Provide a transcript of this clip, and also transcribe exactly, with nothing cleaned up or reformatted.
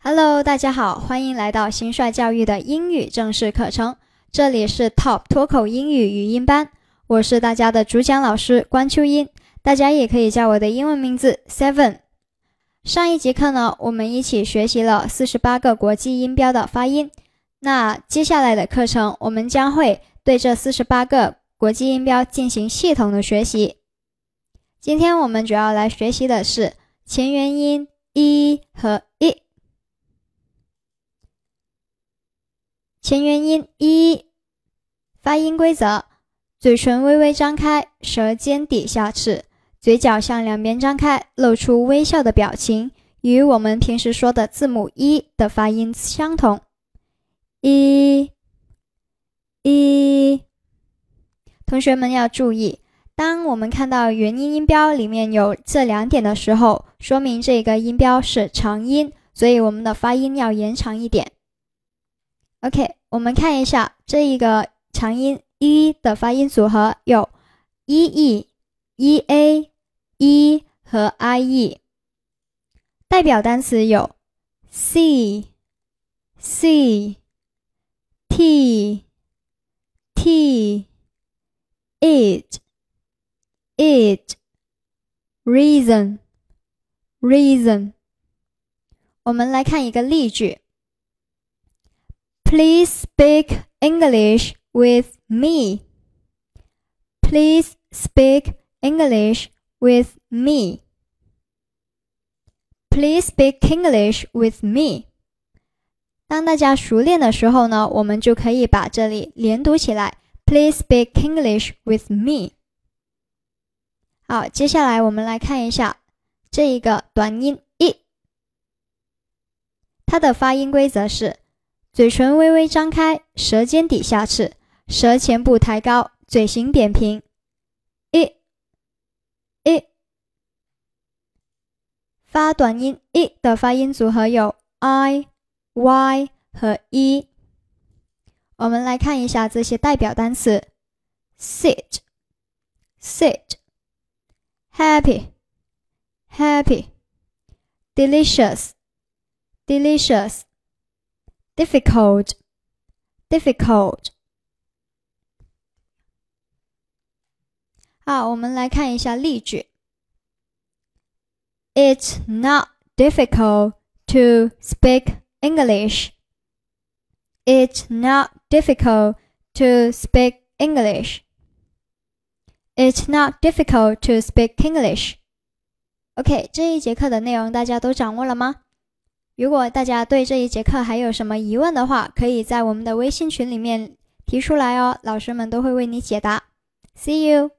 Hello， 大家好，欢迎来到新帅教育的英语正式课程，这里是 Top 脱口英语语音班，我是大家的主讲老师关秋英，大家也可以叫我的英文名字 Seven。上一节课呢，我们一起学习了四十八个国际音标的发音，那接下来的课程，我们将会对这四十八个国际音标进行系统的学习。今天我们主要来学习的是前元音 i 和 i。前元音 i， 发音规则：嘴唇微微张开，舌尖抵下齿，嘴角向两边张开，露出微笑的表情，与我们平时说的字母 i 的发音相同。i i， 同学们要注意，当我们看到元音音标里面有这两点的时候，说明这个音标是长音，所以我们的发音要延长一点。OK， 我们看一下这一个长音 i 的发音组合有 ee、ea、e 和 ie， 代表单词有 see、see、t、t、it、it、reason、reason。我们来看一个例句。Please speak English with me. Please speak English with me. Please speak English with me. 当大家熟练的时候呢，我们就可以把这里连读起来。Please speak English with me. 好，接下来我们来看一下这一个短音 i， 它的发音规则是嘴唇微微张开，舌尖抵下齿，舌前部抬高，嘴型扁平。i i， 发短音 i 的发音组合有 i、y 和 e。我们来看一下这些代表单词 ：sit、sit、happy、happy、delicious、delicious。difficult, difficult。 好，我们来看一下例句。It's not difficult to speak English. It's not difficult to speak English. It's not difficult to speak English. OK， 这一节课的内容大家都掌握了吗？如果大家对这一节课还有什么疑问的话，可以在我们的微信群里面提出来哦，老师们都会为你解答。See you!